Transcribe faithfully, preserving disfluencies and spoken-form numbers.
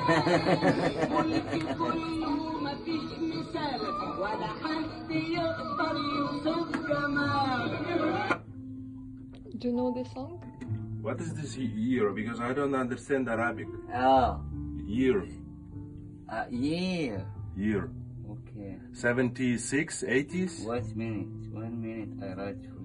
ملك كله مفيش مثال ولا حد يقدر يوصف جمال. Do you know the song? What is this year? Because I don't understand Arabic. Oh, Year. uh, yeah. Year. Okay. seventy-six, eighties? One minute. One minute. I write for